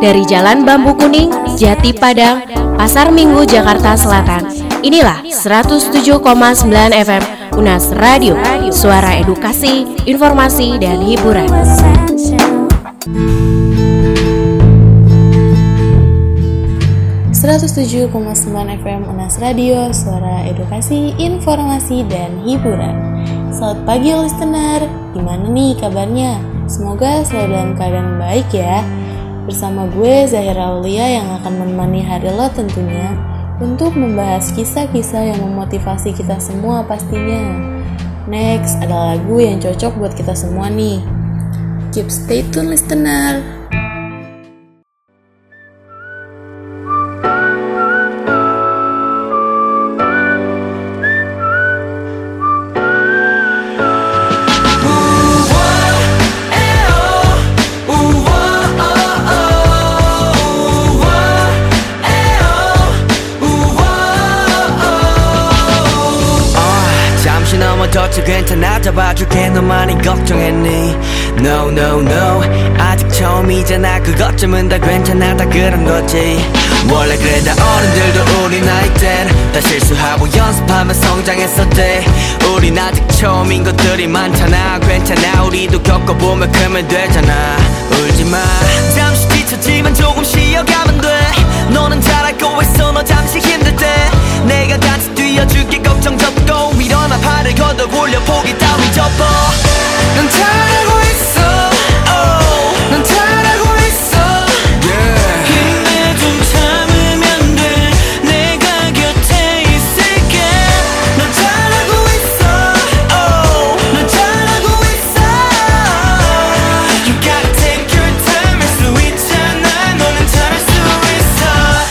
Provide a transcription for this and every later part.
dari Jalan Bambu Kuning, Jati Padang, Pasar Minggu, Jakarta Selatan. Inilah 107,9 FM Unas Radio, suara edukasi, informasi, dan hiburan. 107,9 FM Unas Radio, suara edukasi, informasi, dan hiburan. Selamat pagi listener, gimana nih kabarnya? Semoga selalu dalam keadaan baik ya. Bersama gue Zahira Aulia yang akan menemani hari lo tentunya untuk membahas kisah-kisah yang memotivasi kita semua pastinya. Next, ada lagu yang cocok buat kita semua nih. Keep stay tune listener. 더 괜찮아 잡아줄게 너 많이 걱정했니 No no no 아직 처음이잖아 그것쯤은 다 괜찮아 다 그런 거지 원래 그래 다 어른들도 우리 나이 땐 다 실수하고 연습하며 성장했었대 우린 아직 처음인 것들이 많잖아 괜찮아 우리도 겪어보면 크면 되잖아 울지마 잠시 지쳤지만 조금 쉬어가면 돼 너는 잘할 거 있어 너 잠시 힘들 때 내가 같이 뛰어줄게 걱정 접고 일어나 팔을 걷어 올려 포기 따위 접어 넌 잘하고 있어 oh. 넌 잘하고 있어 yeah. 힘내 좀 참으면 돼 내가 곁에 있을게 넌 잘하고 있어 oh. 넌 잘하고 있어 You gotta take your time 할 수 있잖아 너는 잘할 수 있어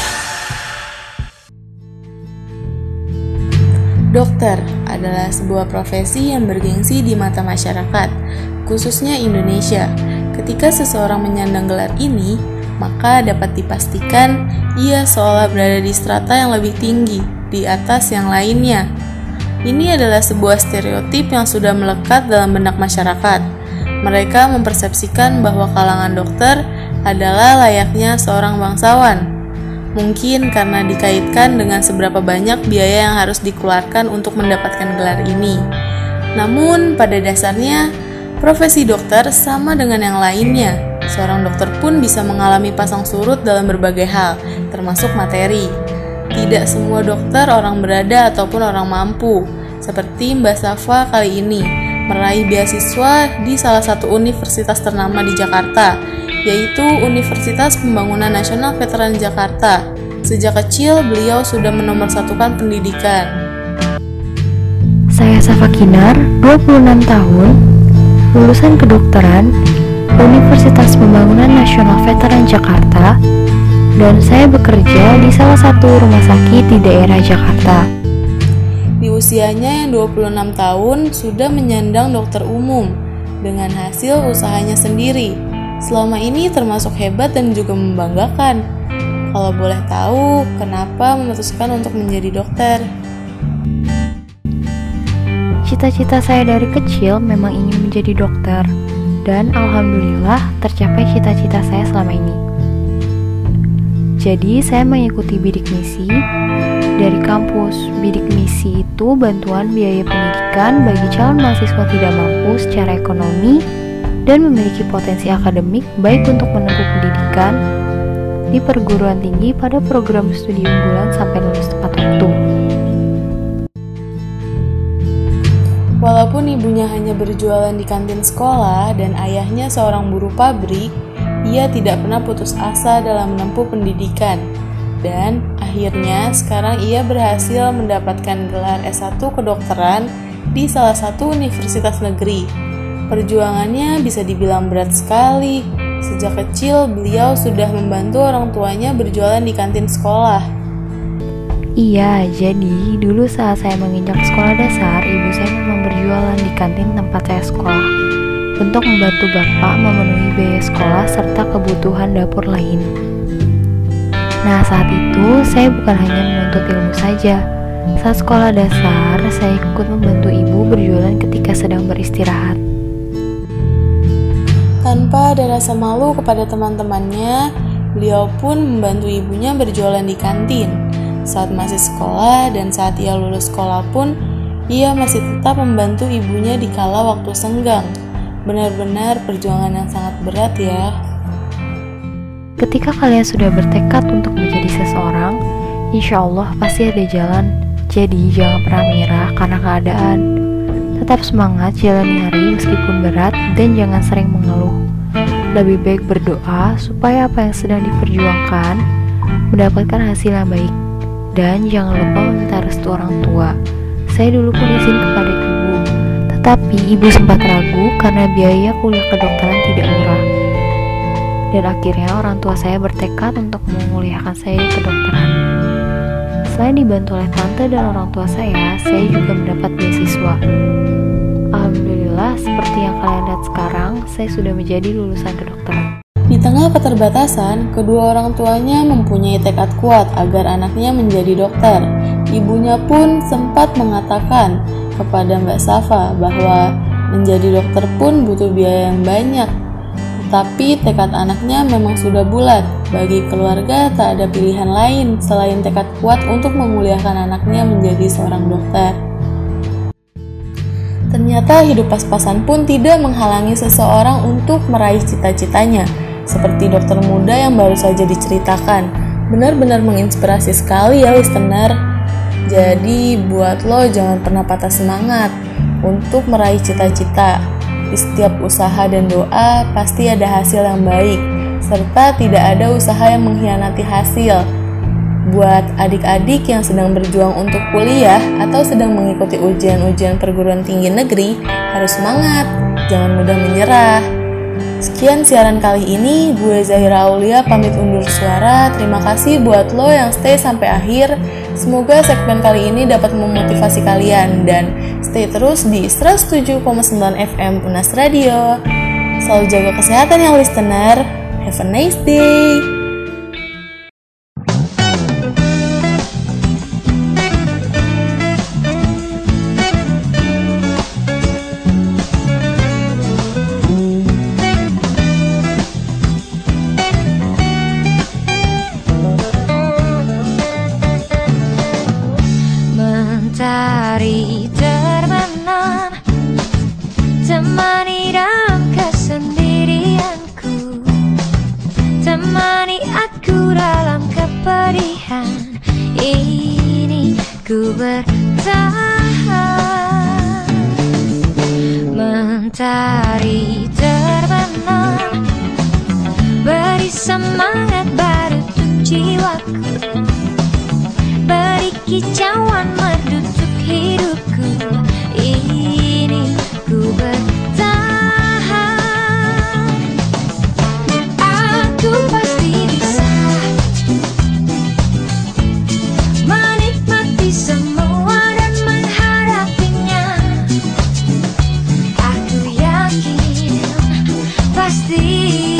Dokter adalah sebuah profesi yang bergengsi di mata masyarakat, khususnya Indonesia. Ketika seseorang menyandang gelar ini, maka dapat dipastikan ia seolah berada di strata yang lebih tinggi, di atas yang lainnya. Ini adalah sebuah stereotip yang sudah melekat dalam benak masyarakat. Mereka mempersepsikan bahwa kalangan dokter adalah layaknya seorang bangsawan. Mungkin karena dikaitkan dengan seberapa banyak biaya yang harus dikeluarkan untuk mendapatkan gelar ini. Namun, pada dasarnya, profesi dokter sama dengan yang lainnya. Seorang dokter pun bisa mengalami pasang surut dalam berbagai hal, termasuk materi. Tidak semua dokter orang berada ataupun orang mampu, seperti Mbak Safa kali ini, meraih beasiswa di salah satu universitas ternama di Jakarta, yaitu Universitas Pembangunan Nasional Veteran Jakarta. Sejak kecil, beliau sudah menomorsatukan pendidikan. Saya Safa Kinar, 26 tahun, lulusan kedokteran Universitas Pembangunan Nasional Veteran Jakarta, dan saya bekerja di salah satu rumah sakit di daerah Jakarta. Di usianya yang 26 tahun, sudah menyandang dokter umum, dengan hasil usahanya sendiri. Selama ini termasuk hebat dan juga membanggakan. Kalau boleh tahu, kenapa memutuskan untuk menjadi dokter? Cita-cita saya dari kecil memang ingin menjadi dokter, dan alhamdulillah tercapai cita-cita saya selama ini. Jadi saya mengikuti bidik misi dari kampus. Bidik misi itu bantuan biaya pendidikan bagi calon mahasiswa tidak mampu secara ekonomi dan memiliki potensi akademik baik untuk menempuh pendidikan di perguruan tinggi pada program studi unggulan sampai lulus tepat waktu. Walaupun ibunya hanya berjualan di kantin sekolah dan ayahnya seorang buruh pabrik, ia tidak pernah putus asa dalam menempuh pendidikan. Dan akhirnya sekarang ia berhasil mendapatkan gelar S1 kedokteran di salah satu universitas negeri. Perjuangannya bisa dibilang berat sekali. Sejak kecil beliau sudah membantu orang tuanya berjualan di kantin sekolah. Iya, jadi dulu saat saya menginjak sekolah dasar, ibu saya memang berjualan di kantin tempat saya sekolah untuk membantu bapak memenuhi biaya sekolah serta kebutuhan dapur lain. Nah, saat itu saya bukan hanya menuntut ilmu saja. Saat sekolah dasar, saya ikut membantu ibu berjualan ketika sedang beristirahat. Tanpa ada rasa malu kepada teman-temannya, Beliau pun membantu ibunya berjualan di kantin. Saat masih sekolah dan saat ia lulus sekolah pun, ia masih tetap membantu ibunya di kala waktu senggang. Benar-benar perjuangan yang sangat berat ya. Ketika kalian sudah bertekad untuk menjadi seseorang, insya Allah pasti ada jalan. Jadi jangan pernah menyerah karena keadaan. Tetap semangat jalani hari meskipun berat dan jangan sering mengeluh. Lebih baik berdoa supaya apa yang sedang diperjuangkan mendapatkan hasil yang baik. Dan jangan lupa meminta restu orang tua. Saya dulu pun izin kepada ibu, tetapi ibu sempat ragu karena biaya kuliah kedokteran tidak murah. Dan akhirnya orang tua saya bertekad untuk menguliahkan saya di kedokteran. Selain dibantu oleh tante dan orang tua saya juga mendapat beasiswa. Alhamdulillah, seperti yang kalian lihat sekarang, saya sudah menjadi lulusan kedokteran. Di tengah keterbatasan, kedua orang tuanya mempunyai tekad kuat agar anaknya menjadi dokter. Ibunya pun sempat mengatakan kepada Mbak Safa bahwa menjadi dokter pun butuh biaya yang banyak. Tapi tekad anaknya memang sudah bulat. Bagi keluarga tak ada pilihan lain selain tekad kuat untuk memuliakan anaknya menjadi seorang dokter. Ternyata hidup pas-pasan pun tidak menghalangi seseorang untuk meraih cita-citanya. Seperti dokter muda yang baru saja diceritakan. Benar-benar menginspirasi sekali ya listener. Jadi buat lo jangan pernah patah semangat untuk meraih cita-cita. Di setiap usaha dan doa pasti ada hasil yang baik, serta tidak ada usaha yang mengkhianati hasil. Buat adik-adik yang sedang berjuang untuk kuliah atau sedang mengikuti ujian-ujian perguruan tinggi negeri, harus semangat, jangan mudah menyerah. Sekian siaran kali ini, gue Zahira Aulia pamit undur suara. Terima kasih buat lo yang stay sampai akhir. Semoga segmen kali ini dapat memotivasi kalian dan stay terus di 107,9 FM Unas Radio. Selalu jaga kesehatan ya listener. Have a nice day. Mentari terbenam, temani dalam kesendirianku, temani aku dalam kepedihan ini, ku bertahan. Mentari terbenam, beri semangat baru untuk jiwaku, beri kicauan merdu untuk hidupku ini, ku bertahan. Aku pasti bisa menikmati semua dan menghadapinya. Aku yakin pasti